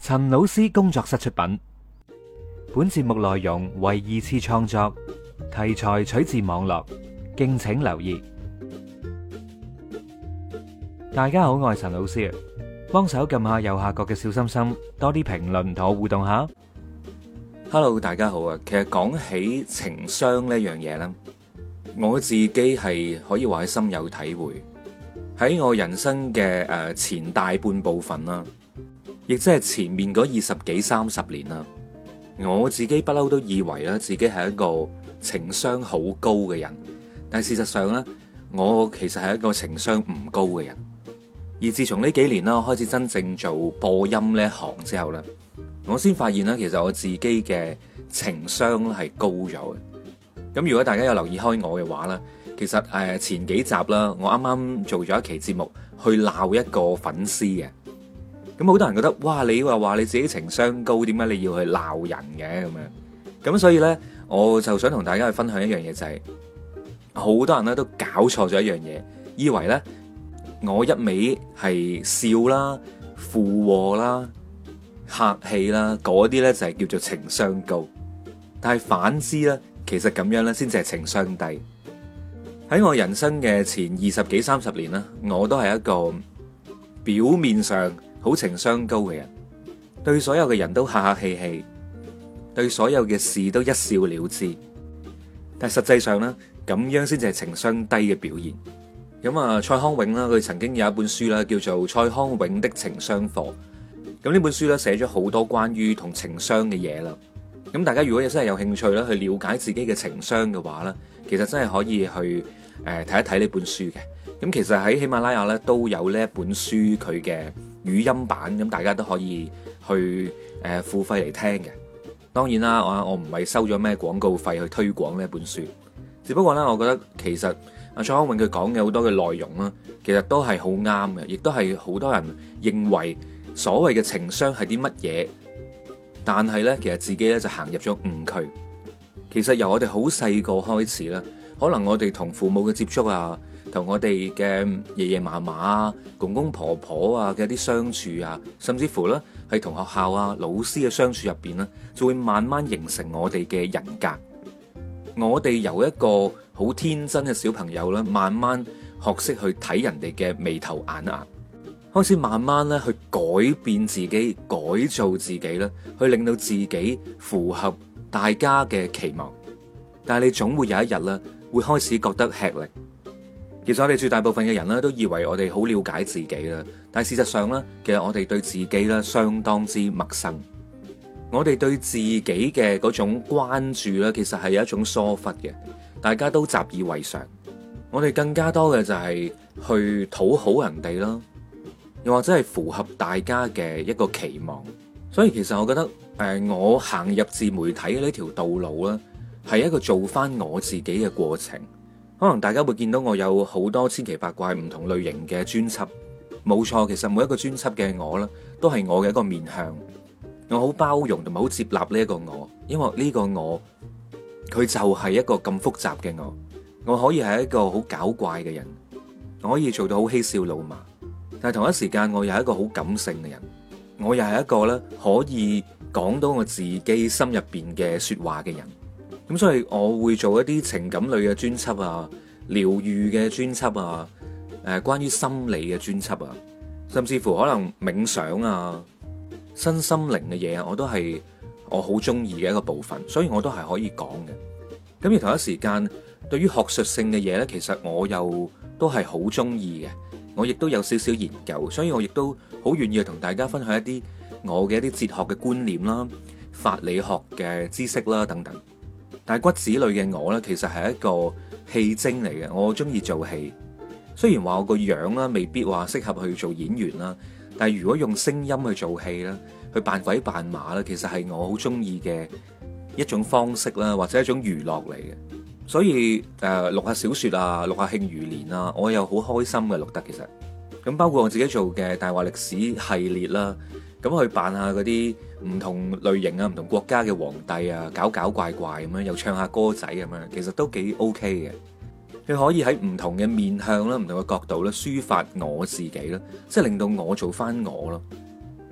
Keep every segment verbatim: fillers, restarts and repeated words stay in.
陳老師工作室出品，本節目內容為二次創作，題材取自網絡，敬請留意。大家好，我係陳老師，幫手撳下右下角嘅小心心，多啲評論同我互動下。 Hello， 大家好啊！其實講起情商呢樣嘢咧，我自己係可以話係深有體會。喺我人生嘅誒前大半部分啦，亦即係前面嗰二十幾三十年啦，我自己不嬲都以為咧自己係一個情商好高嘅人，但係事實上咧，我其實係一個情商唔高嘅人。而自從呢幾年啦，我開始真正做播音呢一行之後咧，我先發現咧，其實我自己嘅情商係高咗嘅。咁如果大家有留意開我嘅話咧，其實誒前幾集啦，我啱啱做咗一期節目去鬧一個粉絲嘅。咁好多人覺得，哇！你話話你自己情商高，點解你要去鬧人嘅咁樣？咁所以咧，我就想同大家去分享一樣嘢，就係好多人咧都搞錯咗一樣嘢，以為咧我一味係笑啦、附和啦、客氣啦，嗰啲咧就係叫做情商高。但係反之咧，其實咁樣咧先至係情商低。喺我人生嘅前二十幾三十年啦，我都係一個表面上好情商高嘅人，對所有嘅人都客客氣氣，對所有嘅事都一笑了之。但係實際上咧，咁樣先至係情商低嘅表現。咁啊，蔡康永啦，佢曾經有一本書啦，叫做《蔡康永的情商課》。咁呢本書咧寫咗好多關於同情商嘅嘢啦。咁大家如果真係有興趣咧，去了解自己嘅情商嘅話咧，其實真係可以去誒睇一睇呢本書嘅。咁其實喺喜馬拉雅咧都有呢一本書佢嘅語音版，咁大家都可以去誒付費嚟聽嘅。當然啦，我我唔係收咗咩廣告費去推廣呢一本書，只不過咧，我覺得其實阿蔡康永佢講嘅好多嘅內容啦，其實都係好啱嘅，亦都係好多人認為所謂嘅情商係啲乜嘢，但係咧其實自己咧就行入咗誤區。其實由我哋好細個開始啦，可能我哋同父母嘅接觸啊，同我哋嘅爺爺嫲嫲啊、公公婆婆啊嘅一啲相處啊，甚至乎咧係同學校啊、老師嘅相處入邊咧，就會慢慢形成我哋嘅人格。我哋由一個好天真嘅小朋友咧，慢慢學識去睇人哋嘅眉頭眼額，開始慢慢咧去改變自己、改造自己咧，去令到自己符合大家嘅期望。但係你總會有一日咧，會開始覺得吃力。其實我哋絕大部分嘅人咧，都以為我哋好了解自己啦，但係事實上咧，其實我哋對自己咧相當之陌生。我哋對自己嘅嗰種關注咧，其實係有一種疏忽嘅，大家都習以為常。我哋更加多嘅就係去討好人哋啦，又或者係符合大家嘅一個期望。所以其實我覺得，誒、呃，我行入自媒體嘅呢條道路咧，係一個做翻我自己嘅過程。可能大家會見到我有好多千奇百怪唔同類型嘅專輯，冇錯，其實每一個專輯嘅我咧，都係我嘅一個面向。我好包容同埋好接納呢一個我，因為呢個我佢就係一個咁複雜嘅我。我可以係一個好搞怪嘅人，我可以做到好嬉笑怒罵，但係同一時間我又係一個好感性嘅人，我又係一個咧可以講到我自己心入邊嘅說話嘅人。咁所以我會做一啲情感類嘅專輯啊，療愈嘅專輯啊，誒，關於心理嘅專輯啊，甚至乎可能冥想啊、身心靈嘅嘢啊，我都係我好中意嘅一個部分，所以我都係可以講嘅。咁而同一時間，對於學術性嘅嘢咧，其實我又都係好中意嘅，我亦都有少少研究，所以我亦都好願意去同大家分享一啲我嘅一啲哲學嘅觀念啦、法理學嘅知識啦等等。但係骨子裏嘅我咧，其實係一個戲精嚟嘅，我中意做戲。雖然話我個樣啦，未必話適合去做演員啦，但係如果用聲音去做戲啦，去扮鬼扮馬啦，其實係我好中意嘅一種方式啦，或者一種娛樂嚟嘅。所以誒，錄下小說啊，錄下慶餘年啊，我又好開心嘅錄得。其實咁包括我自己做嘅大話歷史系列啦，咁去扮下嗰啲唔同類型啊、唔同國家嘅皇帝啊，搞搞怪怪咁樣，又唱下歌仔咁樣，其實都幾 OK 嘅。佢可以喺唔同嘅面向啦、唔同嘅角度咧，抒發我自己啦，即係令到我做翻我咯。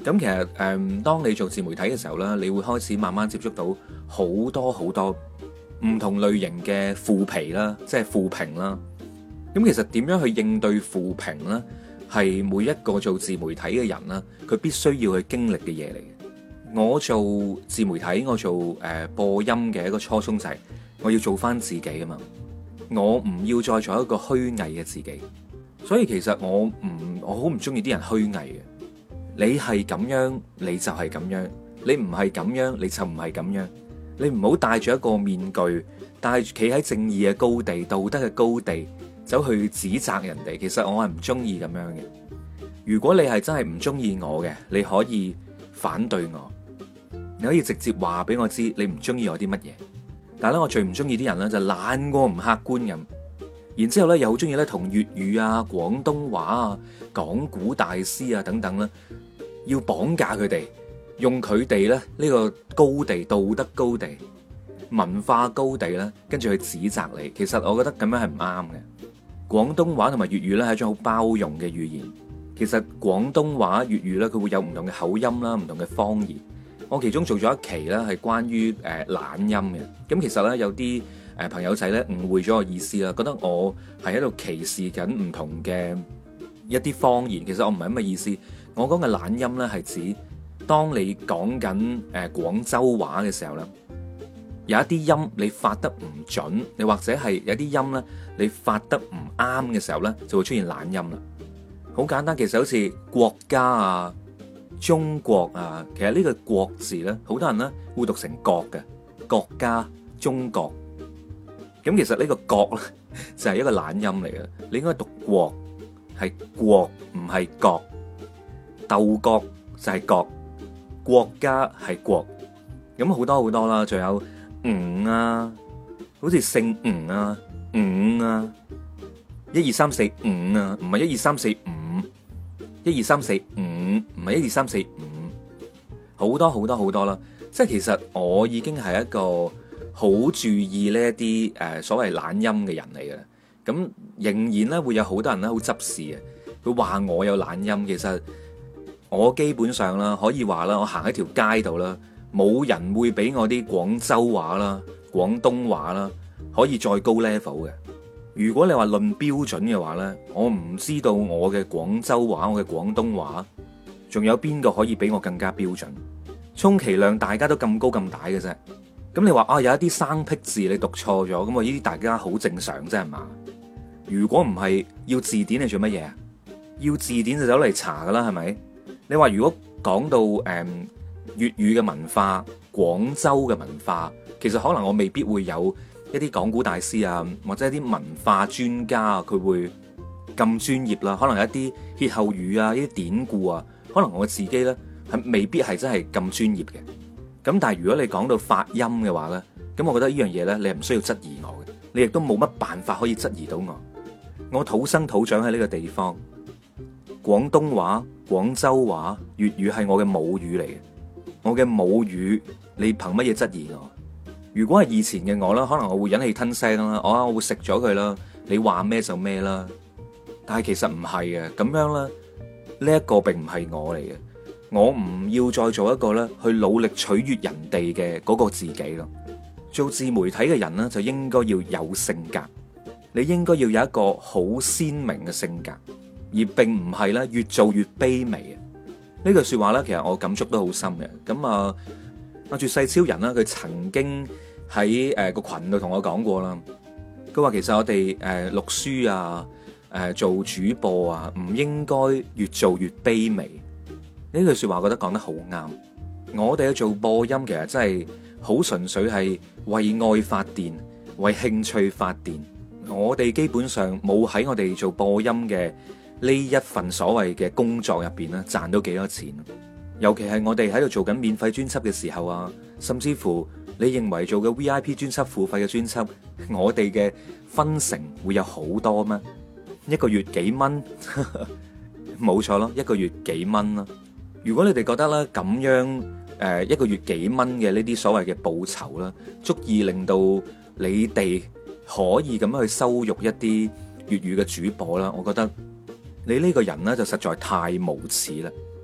咁其實誒、嗯，當你做自媒體嘅時候咧，你會開始慢慢接觸到好多好多唔同類型嘅負皮啦，即係負評啦。咁其實點樣去應對負評咧，係每一個做自媒體嘅人啦，佢必須要去經歷嘅嘢嚟嘅。我做自媒體，我做誒、呃、播音嘅一個初衷就係我要做翻自己啊嘛，我唔要再做一個虛偽嘅自己。所以其實我唔，我好唔中意啲人虛偽嘅。你係咁樣，你就係咁樣；你唔係咁樣，你就唔係咁樣。你唔好戴住一個面具，戴住企喺正義嘅高地、道德嘅高地，走去指責人哋。其實我係唔中意咁樣嘅。如果你係真係唔中意我嘅，你可以反對我，你可以直接話俾我知你唔中意我啲乜嘢。但係咧，我最唔中意啲人咧就懶過唔客觀咁，然之後咧又好中意咧同粵語啊、廣東話啊、講古大師啊等等咧，要綁架佢哋，用佢哋咧呢個高地、道德高地、文化高地咧，跟住去指責你。其實我覺得咁樣係唔啱嘅。廣東話同埋粵語咧係一種好包容嘅語言。其實廣東話、粵語咧佢會有唔同嘅口音啦、唔同嘅方言。我其中做咗一期咧係關於誒懶音嘅。咁其實咧有啲誒朋友仔咧誤會咗我意思啦，覺得我係喺度歧視緊唔同嘅一啲方言。其實我唔係咁嘅意思。我講嘅懶音咧係指當你講緊誒廣州話嘅時候咧，有一啲音你發得唔準，你或者係有啲音咧你發得唔啱嘅時候咧，就會出現懶音啦。好簡單，其實好似國家啊、中國啊，其實呢個國字咧，好多人咧會讀成國嘅，國家、中國。咁其實呢個國咧就係一個懶音嚟嘅，你應該讀國，係國唔係國。鬥國就係國，國家係國。咁好多好多啦，仲有吳啊，好似姓吳啊、五啊、一二三四五啊，唔係一二三四五，一二三四五唔係一二三四五，好多好多好多啦。即係其實我已經係一個好注意呢一啲誒所謂懶音嘅人嚟嘅，咁仍然咧會有好多人咧好執事嘅，佢話我有懶音，其實。我基本上啦，可以話啦，我行喺條街度啦，冇人會俾我啲廣州話啦、廣東話啦，可以再高 level 嘅。如果你話論標準嘅話咧，我唔知道我嘅廣州話、我嘅廣東話，仲有邊個可以比我更加標準？充其量大家都咁高咁大嘅啫。咁你話啊，有一啲生僻字你讀錯咗，咁啊呢啲大家好正常啫係嘛？如果唔係要字典嚟做乜嘢啊？要字典就走嚟查噶啦，係咪？你話如果講到誒粵語嘅文化、廣州嘅文化，其實可能我未必會有一啲講古大師啊，或者一啲文化專家啊，佢會咁專業啦。可能有一啲歇後語啊、一啲典故啊，可能我自己咧係未必係真係咁專業嘅。咁但係如果你講到發音嘅話咧，咁我覺得呢樣嘢咧，你係唔需要質疑我嘅，你亦都冇乜辦法可以質疑到我。我土生土長喺呢個地方。廣東話、廣州話、粵語係我嘅母語嚟嘅，我嘅母語，你憑乜嘢質疑我？如果係以前嘅我啦，可能我會忍氣吞聲啦，我我會食咗佢啦，你話咩就咩啦。但係其實唔係嘅，咁樣咧，呢一個並唔係我嚟嘅，我唔要再做一個咧去努力取悅人哋嘅嗰個自己咯。做自媒體嘅人咧，就應該要有性格，你應該要有一個好鮮明嘅性格。而並唔係咧，越做越卑微啊！呢句說話咧，其實我感觸都好深嘅。咁啊，阿絕世超人啦，佢曾經喺誒個群度同我講過啦。佢話其實我哋誒錄書啊，誒做主播啊，唔應該越做越卑微。呢句說話我覺得講得好啱。我哋去做播音，其實真係好純粹係為愛發電，為興趣發電。我哋基本上冇喺我哋做播音嘅呢一份所謂嘅工作入邊咧，賺到幾多錢？尤其係我哋喺度做緊免費專輯嘅時候啊，甚至乎你認為做嘅 V I P 專輯、付費嘅專輯，我哋嘅分成會有好多咩？一個月幾蚊？冇錯咯，一個月幾蚊啦。如果你哋覺得咧咁樣誒一個月幾蚊嘅呢啲所謂嘅報酬啦，足以令到你哋可以咁樣去羞辱一啲粵語嘅主播啦，我覺得。你呢個人呢，就實在太無恥啦！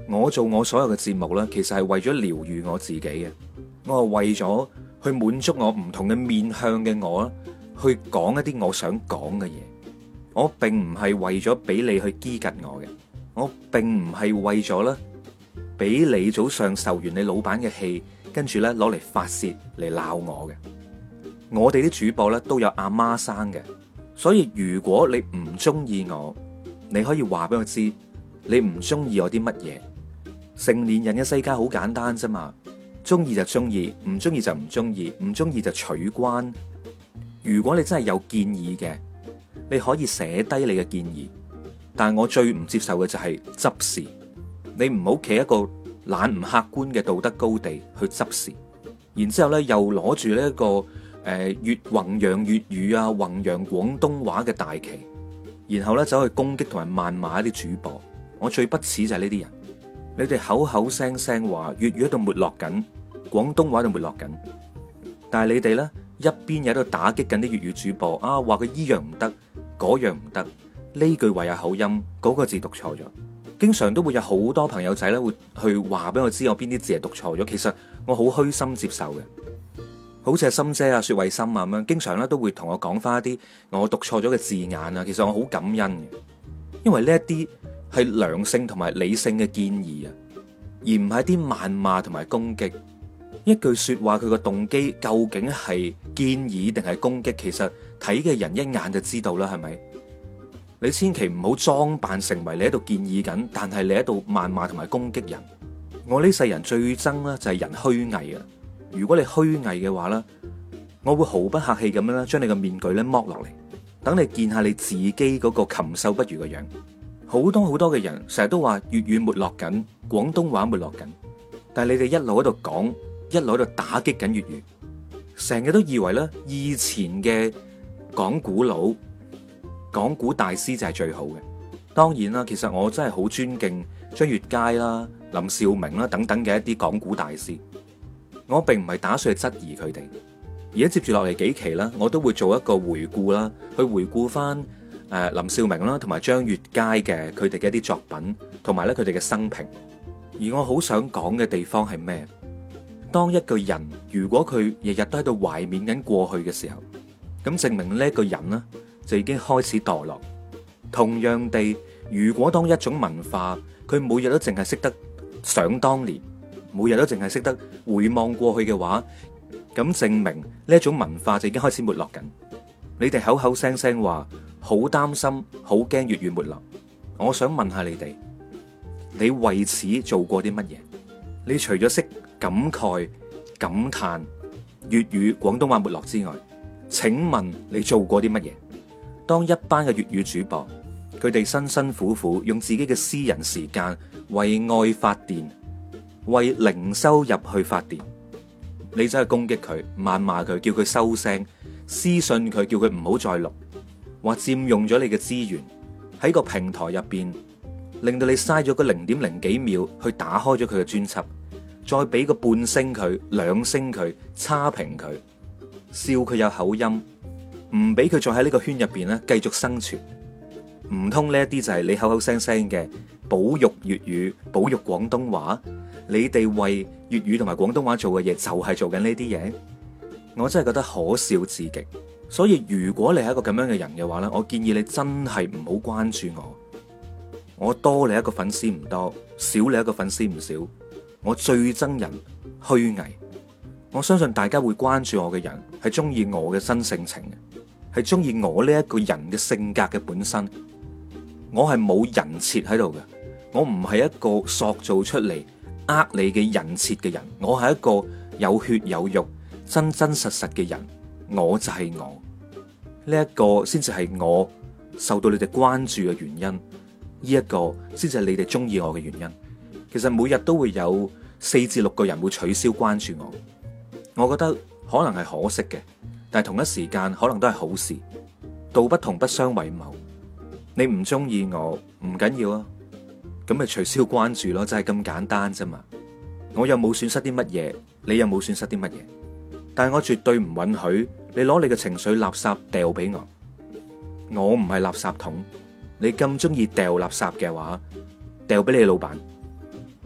我做我所有嘅節目呢，其實係為咗療愈我自己嘅，我係為咗去滿足我唔同嘅面向嘅我啦，去講一啲我想講嘅嘢。我並唔係為咗俾你去激緊我嘅，我並唔係為咗咧俾你早上受完你老闆嘅氣，跟住咧攞嚟發洩嚟鬧我嘅。我哋啲主播咧都有阿媽生嘅，所以如果你唔中意我，你可以話俾我知你唔中意我啲乜嘢。成年人嘅世界好簡單啫嘛，中意就中意，唔中意就唔中意，唔中意就取關。如果你真係有建議嘅，你可以寫低你嘅建議，但係我最唔接受嘅就係執事。你唔好企一個懶唔客觀嘅道德高地去執事，然之後咧又攞住呢一個誒粵弘揚粵語啊、弘揚廣東話嘅大旗，然後咧走去攻擊同埋謾罵一啲主播。我最不齒就係呢啲人。你哋口口聲聲話粵語喺度沒落緊，廣東話喺度沒落緊，但係你哋咧一邊喺度打擊緊啲粵語主播啊，話佢依樣唔得，嗰樣唔得，呢句話有口音，嗰個字讀錯咗。經常都會有好多朋友仔咧會去話俾我知我邊啲字係讀錯咗，其實我好虛心接受嘅。好似係心姐啊、薛慧心啊咁樣，經常咧都會同我講翻一啲我讀錯咗嘅字眼啊，其實我好感恩嘅，因為呢一啲係良性同埋理性嘅建議啊，而唔係啲謾罵同埋攻擊。一句說話佢個動機究竟係建議定係攻擊，其實睇嘅人一眼就知道啦，係咪？你千祈唔好裝扮成為你喺度建議緊，但係你喺度謾罵同埋攻擊人。我呢世人最憎咧就係人虛偽啊！如果你虛偽嘅話咧，我會毫不客氣咁樣咧將你個面具咧剝落嚟，等你見下你自己嗰個禽獸不如嘅樣。好多好多嘅人成日都話粵語沒落緊，廣東話沒落緊，但係你哋一路喺度講，一路喺度打擊緊粵語，成日都以為咧以前嘅講古佬、講古大師就係最好嘅。當然啦，其實我真係好尊敬張悅楷啦、林兆明啦等等嘅一啲講古大師。我並唔係打算去質疑佢哋，而家接住落嚟幾期啦，我都會做一個回顧啦，去回顧翻誒林兆明啦同埋張悅楷嘅佢哋嘅一啲作品，同埋咧佢哋嘅生平。而我好想講嘅地方係咩？當一個人如果佢日日都喺度懷緬緊過去嘅時候，咁證明呢一個人呢就已經開始墮落。同樣地，如果當一種文化佢每日都淨係識得想當年，每日都淨係識得回望過去嘅話，咁證明呢一種文化就已經開始沒落緊。你哋口口聲聲話好擔心、好驚粵語沒落，我想問下你哋，你為此做過啲乜嘢？你除咗識感慨、感嘆粵語、廣東話沒落之外，請問你做過啲乜嘢？當一班嘅粵語主播，佢哋辛辛苦苦用自己嘅私人時間為愛發電，為零收入去發電，你走去攻擊佢、謾罵佢，叫佢收聲，私信佢，叫佢唔好再錄，話佔用咗你嘅資源，喺個平台入邊令到你嘥咗個零點零幾秒去打開咗佢嘅專輯，再俾個半星佢、兩星佢、差評佢，笑佢有口音，唔俾佢再喺呢個圈入邊咧繼續生存。唔通呢一啲就係你口口聲聲嘅保育粵語、保育廣東話？你哋為粵語同埋廣東話做嘅嘢就係做緊呢啲嘢？我真係覺得可笑至極。所以如果你係一個咁樣嘅人嘅話咧，我建議你真係唔好關注我。我多你一個粉絲唔多，少你一個粉絲唔少。我最憎人虛偽。我相信大家會關注我嘅人係中意我嘅真性情嘅，係中意我呢一個人嘅性格嘅本身。我係冇人設喺度嘅，我唔係一個塑造出嚟呃你嘅人設嘅人，我係一個有血有肉、真真實實嘅人，我就係我。呢一個先至係我受到你哋關注嘅原因，呢一個先至係你哋中意我嘅原因。其實每日都會有四至六個人會取消關注我，我覺得可能係可惜嘅，但係同一時間可能都係好事。道不同不相為謀。你唔中意我唔緊要啊，咁咪取消關注咯，就係咁簡單啫嘛。我又冇損失啲乜嘢，你又冇損失啲乜嘢，但係我絕對唔允許你攞你嘅情緒垃圾掉俾我。我唔係垃圾桶，你咁中意掉垃圾嘅話，掉俾你老闆。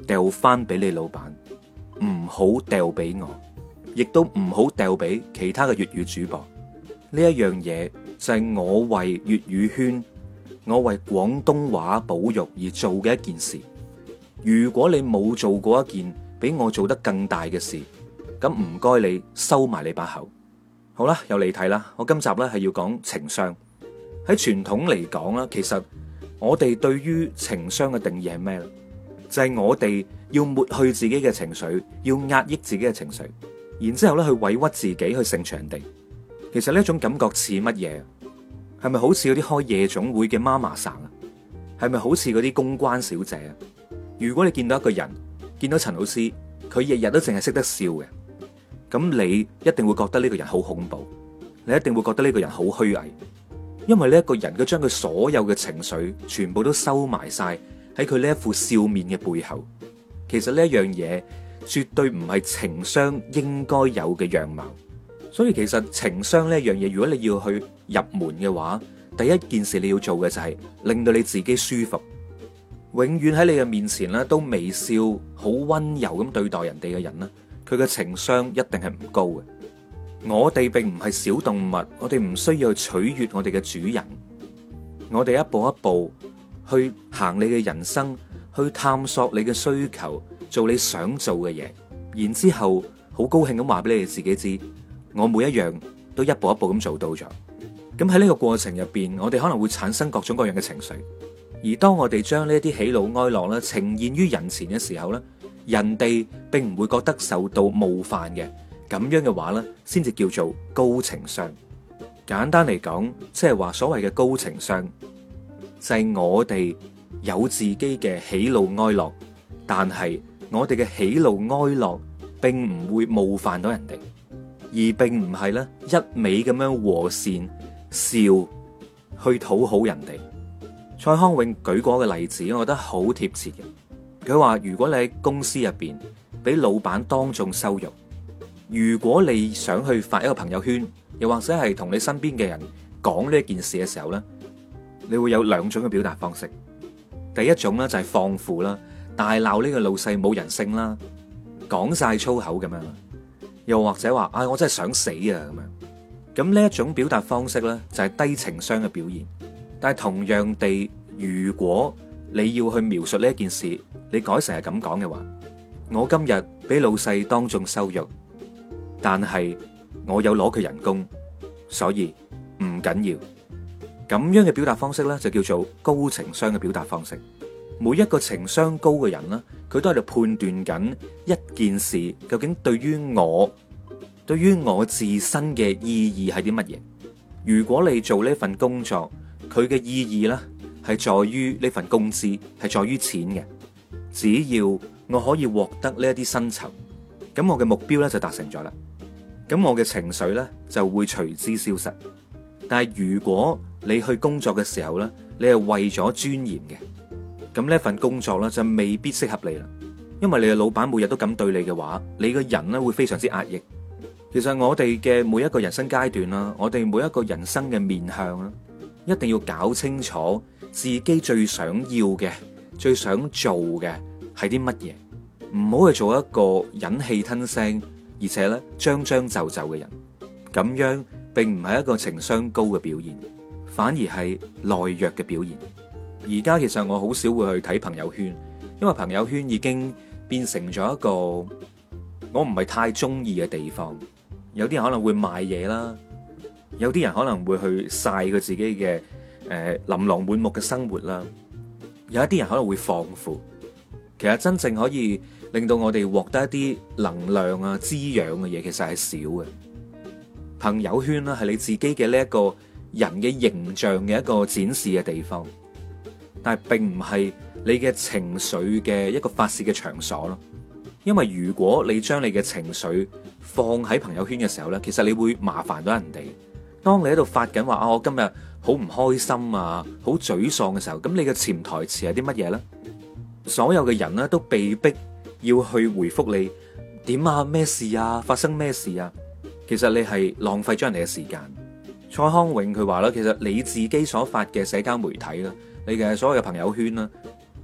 掉翻俾你老闆，唔好掉俾我，亦都唔好掉俾其他嘅粵語主播。呢一樣嘢就係我為粵語圈，我為廣東話保育而做嘅一件事。如果你冇做過一件比我做得更大嘅事，咁唔該你收埋你把口。好啦，又離題啦。我今集咧係要講情商。喺傳統嚟講啦，其實我哋對於情商嘅定義係咩咧？就係我哋要抹去自己嘅情緒，要壓抑自己嘅情緒，然之後咧去委屈自己去成全人哋。其實呢一種感覺似乜嘢？係咪好似嗰啲開夜總會嘅媽媽生啊？係咪好似嗰啲公關小姐啊？如果你見到一個人，見到陳老師，佢日日都淨係識得笑嘅，咁你一定會覺得呢個人好恐怖，你一定會覺得呢個人好虛偽，因為呢一個人佢將佢所有嘅情緒全部都收埋晒喺佢呢一副笑面嘅背後。其實呢一樣嘢絕對唔係情商應該有嘅樣貌。所以其實情商呢一樣嘢，如果你要去入門嘅話，第一件事你要做嘅就係令到你自己舒服。永遠喺你嘅面前咧都微笑，好溫柔咁對待人哋嘅人咧，佢嘅情商一定係唔高嘅。我哋並唔係小動物，我哋唔需要取悅我哋嘅主人。我哋一步一步去行你嘅人生，去探索你嘅需求，做你想做嘅嘢，然之後好高興咁話俾你哋自己知，我每一樣都一步一步咁做到咗。咁喺呢個過程入邊，我哋可能會產生各種各樣嘅情緒。而當我哋將呢啲喜怒哀樂咧呈現於人前嘅時候咧，人哋並唔會覺得受到冒犯嘅。咁樣嘅話咧，先至叫做高情商。簡單嚟講，即係話所謂嘅高情商，就係我哋有自己嘅喜怒哀樂，但係我哋嘅喜怒哀樂並唔會冒犯到人哋，而並唔係咧一味咁樣和善笑去討好人哋。蔡康永舉過嘅例子，我覺得好貼切嘅。佢話如果你喺公司入邊俾老闆當眾羞辱，如果你想去發一個朋友圈，又或者係同你身邊嘅人講呢件事嘅時候咧，你會有兩種嘅表達方式。第一種咧就係放負啦，大鬧呢個老細冇人性啦，講晒粗口咁樣，又或者話啊、哎、我真係想死啊咁樣。咁呢一種表達方式咧就係低情商嘅表現。但係同樣地，如果你要去描述呢一件事，你改成係咁講嘅話，我今日俾老細當眾羞辱，但係我有攞佢人工，所以唔緊要。咁樣嘅表達方式咧，就叫做高情商嘅表達方式。每一個情商高嘅人咧，佢都喺度判斷緊一件事究竟對於我，對於我自身嘅意義係啲乜嘢。如果你做呢份工作，佢嘅意義咧係在於呢份工資，係在於錢嘅。只要我可以獲得呢一啲薪酬，咁我嘅目標咧就達成咗啦。咁我嘅情緒咧就會隨之消失。但係如果你去工作嘅時候咧，你係為咗尊嚴嘅，咁呢份工作咧就未必適合你啦。因為你嘅老闆每日都咁對你嘅話，你個人咧會非常之壓抑。其實我哋嘅每一個人生階段啦，我哋每一個人生嘅面向啦，一定要搞清楚自己最想要嘅、最想做嘅係啲乜嘢，唔好去做一個忍氣吞聲，而且咧將將就就嘅人。咁樣並唔係一個情商高嘅表現，反而係懦弱嘅表現。而家其實我好少會去睇朋友圈，因為朋友圈已經變成咗一個我唔係太中意嘅地方。有啲人可能會賣嘢啦，有啲人可能會去晒佢自己嘅誒、呃、琳琅滿目嘅生活啦，有一啲人可能會放負。其實真正可以令到我哋獲得一啲能量啊、滋養嘅嘢，其實係少嘅。朋友圈啦，係你自己嘅呢一個人嘅形象嘅一個展示嘅地方，但係並唔係你嘅情緒嘅一個發洩嘅場所咯。因為如果你將你嘅情緒放喺朋友圈嘅時候咧，其實你會麻煩到人哋。當你喺度發緊話啊，我今日好唔開心啊，好沮喪嘅時候，咁你嘅潛台詞係啲乜嘢咧？所有嘅人咧都被逼要去回覆你點啊，咩事啊，發生咩事啊？其實你係浪費咗人哋嘅時間。蔡康永佢話啦，其實你自己所發嘅社交媒體啦，你嘅所有嘅朋友圈啦，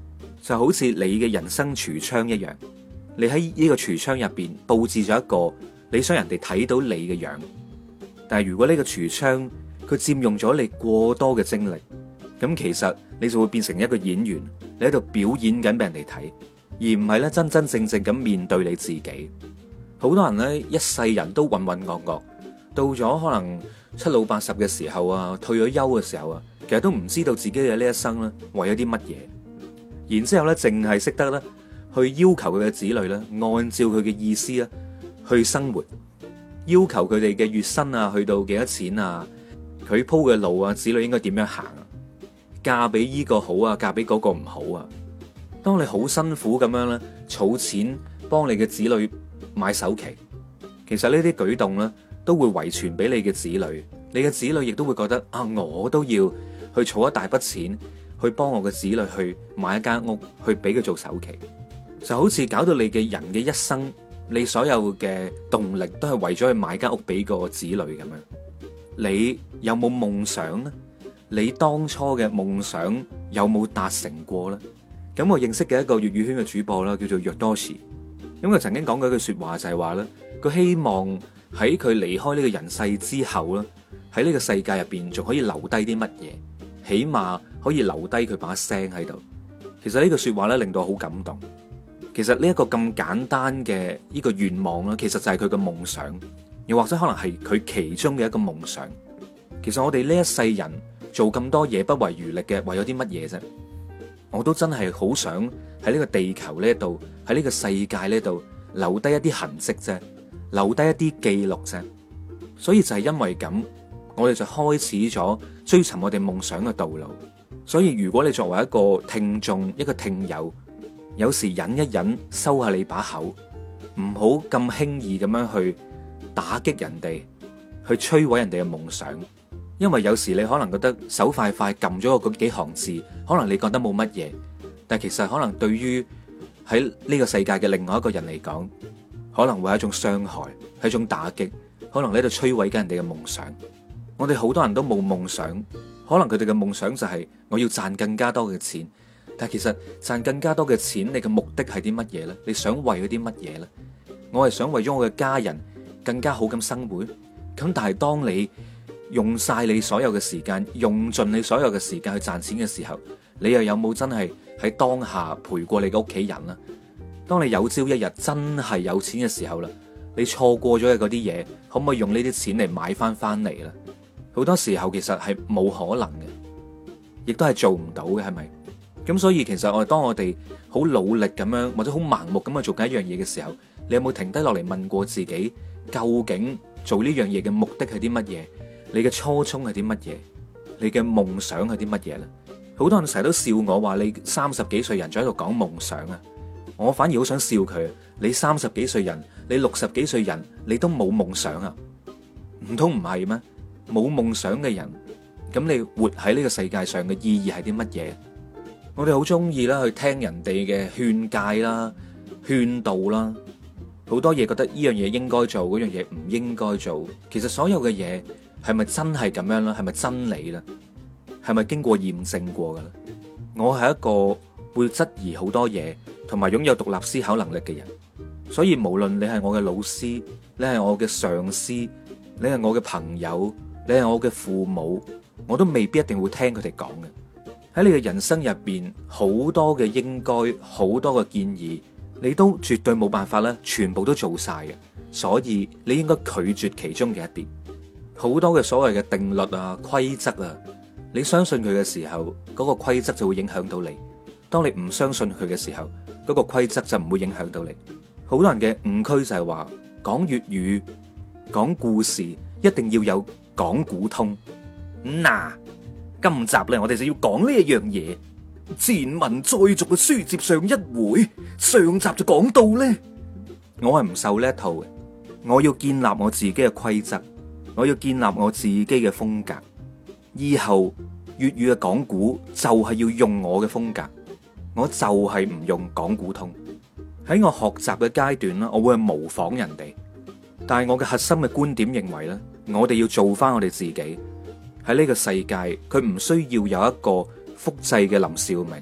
就好似你嘅人生櫥窗一樣，你喺呢個櫥窗入邊布置咗一個你想人哋睇到你嘅樣，但係如果呢個櫥窗佢佔用咗你過多嘅精力，咁其實你就會變成一個演員，你喺度表演緊俾人哋睇，而唔係咧真真正正咁面對你自己。好多人咧一世人都渾渾噩噩，到咗可能七老八十嘅時候啊，退咗休嘅時候啊，其實都唔知道自己嘅呢一生咧為咗啲乜嘢。然之後咧，淨係識得咧去要求佢嘅子女咧，按照佢嘅意思咧去生活，要求佢哋嘅月薪啊，去到幾多錢啊，佢鋪嘅路啊，子女應該點樣行啊，嫁俾依個好啊，嫁俾嗰個唔好啊。當你好辛苦咁樣咧，儲錢幫你嘅子女買首期，其實呢啲舉動咧都會遺傳俾你嘅子女，你嘅子女亦都會覺得啊，我都要去儲一大筆錢。去幫我嘅子女去買一間屋，去俾佢做首期，就好似搞到你嘅人嘅一生，你所有嘅動力都係為咗去買間屋俾個子女咁樣。你有冇夢想呢？你當初嘅夢想有冇達成過呢？咁我認識嘅一個粵語圈嘅主播啦，叫做若多士，咁佢曾經講過一句說話就係話咧，佢希望喺佢離開呢個人世之後咧，喺呢個世界入邊仲可以留低啲乜嘢，起碼可以留低佢把聲喺度。其實呢句說話咧令到我好感動。其實呢一個咁簡單嘅呢個願望咧，其實就係佢嘅夢想，又或者可能係佢其中嘅一個夢想。其實我哋呢一世人做咁多嘢不遺餘力嘅，為咗啲乜嘢啫？我都真係好想喺呢個地球呢度，喺呢個世界呢度留低一啲痕跡啫，留低一啲記錄啫。所以就係因為咁，我哋就開始咗追尋我哋夢想嘅道路。所以如果你作為一個聽眾，一個聽友，有時忍一忍，收下你把口，唔好咁輕易咁樣去打擊人哋，去摧毀人哋嘅夢想。因為有時你可能覺得手快快撳咗個嗰幾行字，可能你覺得冇乜嘢，但其實可能對於喺呢個世界嘅另外一個人嚟講，可能會係一種傷害，係一種打擊，可能喺度摧毀緊人哋嘅夢想。我哋好多人都冇夢想，可能佢哋嘅夢想就係我要賺更加多嘅錢，但其實賺更加多嘅錢，你嘅目的係啲乜嘢呢？你想為咗啲乜嘢呢？我係想為咗我嘅家人更加好咁生活。咁但係當你用晒你所有嘅時間，用盡你所有嘅時間去賺錢嘅時候，你又有冇真係喺當下陪過你嘅屋企人呢？當你有朝一日真係有錢嘅時候啦，你錯過咗嘅嗰啲嘢，可唔可以用呢啲錢嚟買翻翻嚟呢？好多時候其實係冇可能嘅，亦都係做唔到嘅，係咪？咁所以其實我哋當我哋好努力咁樣，或者好盲目咁去做緊一樣嘢嘅時候，你有冇停低落嚟問過自己，究竟做呢樣嘢嘅目的係啲乜嘢？你嘅初衷係啲乜嘢？你嘅夢想係啲乜嘢咧？好多人成日都笑我話你三十幾歲人仲喺度講夢想啊！我反而好想笑佢，你三十幾歲人，你六十幾歲人，你都冇夢想啊？唔通唔係咩？冇夢想嘅人，咁你活喺呢個世界上嘅意義係啲乜嘢？我哋好中意啦，去聽人哋嘅勸誡啦、勸導啦，好多嘢覺得呢樣嘢應該做，嗰樣嘢唔應該做。其實所有嘅嘢係咪真係咁樣啦？係咪真理啦？係咪經過驗證過噶啦？我係一個會質疑好多嘢，同埋擁有獨立思考能力嘅人。所以無論你係我嘅老師，你係我嘅上司，你係我嘅朋友，你係我嘅父母，我都未必一定會聽佢哋講嘅。喺你嘅人生入邊，好多嘅應該，好多嘅建議，你都絕對冇辦法咧，全部都做晒嘅。所以你應該拒絕其中嘅一啲。好多嘅所謂嘅定律啊、規則啊，你相信佢嘅時候，嗰個規則就會影響到你；當你唔相信佢嘅時候，嗰個規則就唔會影響到你。好多人嘅誤區就係話，講粵語、講故事一定要有講古通。嗱，今集咧我哋就要講呢一樣嘢。前文再續嘅書接上一回，上集就講到咧，我係唔受呢一套嘅，我要建立我自己嘅規則。我要建立我自己嘅風格，以後粵語嘅講古就係要用我嘅風格，我就係唔用講古通。喺我學習嘅階段啦，我會去模仿人哋，但係我嘅核心嘅觀點認為咧，我哋要做翻我哋自己。喺呢個世界，佢唔需要有一個複製嘅林兆明，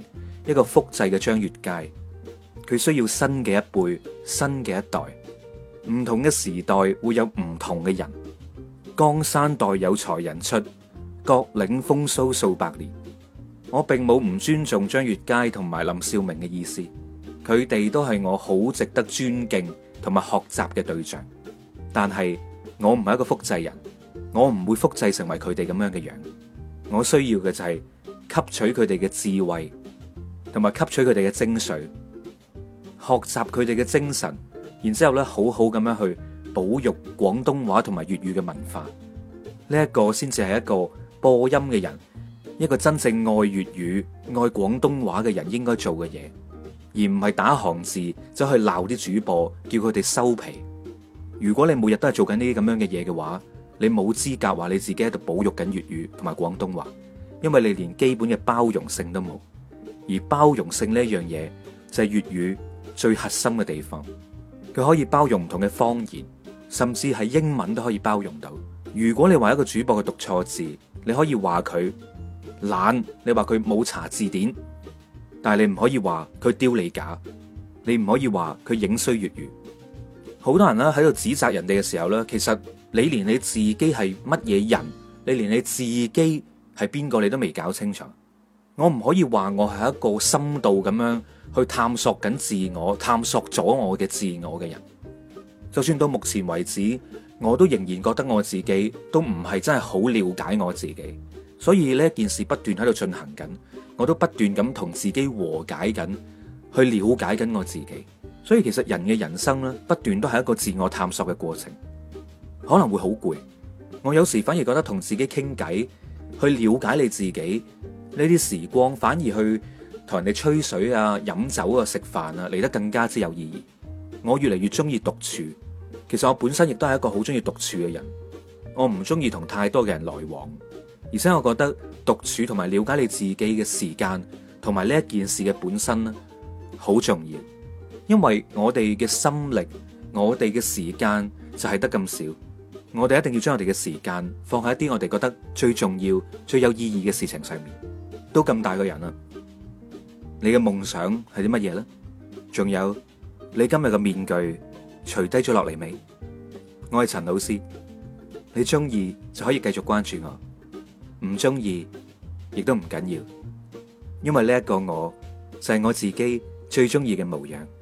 一個複製嘅張悅楷，佢需要新嘅一輩、新嘅一代。唔同嘅時代會有唔同嘅人。江山代有才人出，各領風騷數百年。我並冇唔尊重張悅楷同埋林兆明嘅意思，佢哋都係我好值得尊敬同埋學習嘅對象。但係我唔係一個複製人，我唔會複製成為佢哋咁樣嘅樣。我需要嘅就係吸取佢哋嘅智慧，同埋吸取佢哋嘅精髓，學習佢哋嘅精神。然之後咧，好好咁樣去保育廣東話同埋粵語嘅文化，呢一個先至係一個播音嘅人，一個真正愛粵語、愛廣東話嘅人應該做嘅嘢，而唔係打行字走去鬧啲主播，叫佢哋收皮。如果你每日都係做緊呢啲咁樣嘅嘢嘅話，你冇資格話你自己喺度保育緊粵語同埋廣東話，因為你連基本嘅包容性都冇。而包容性呢一樣嘢就係粵語最核心嘅地方。佢可以包容唔同嘅方言，甚至係英文都可以包容到。如果你話一個主播佢讀錯字，你可以話佢懶，你話佢冇查字典，但係你唔可以話佢丟你架，你唔可以話佢影衰粵語。好多人咧喺度指責人哋嘅時候咧，其實你連你自己係乜嘢人，你連你自己係邊個你都未搞清楚。我唔可以話我係一個深度咁樣去探索緊自我，探索咗我嘅自我嘅人。就算到目前為止，我都仍然覺得我自己都唔係真係好了解我自己。所以呢件事不斷喺度進行緊，我都不斷咁同自己和解緊，去了解緊我自己。所以其實人嘅人生咧，不斷都係一個自我探索嘅過程，可能會好攰。我有時反而覺得同自己傾偈，去了解你自己。呢啲時光反而去同人哋吹水啊、飲酒啊、食飯啊嚟得更加之有意義。我越嚟越中意獨處，其實我本身亦都係一個好中意獨處嘅人。我唔中意同太多嘅人來往，而且我覺得獨處同埋了解你自己嘅時間同埋呢一件事嘅本身咧，好重要。因為我哋嘅心力、我哋嘅時間就係得咁少，我哋一定要將我哋嘅時間放喺一啲我哋覺得最重要、最有意義嘅事情上面。都咁大個人啦，你嘅夢想係啲乜嘢咧？仲有你今日嘅面具除低咗落嚟未？我係陳老師，你中意就可以繼續關注我，唔中意亦都唔緊要，因為呢一個我就係我自己最中意嘅模樣。